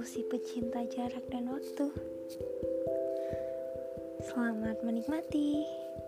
Aku si pecinta jarak dan waktu. Selamat menikmati.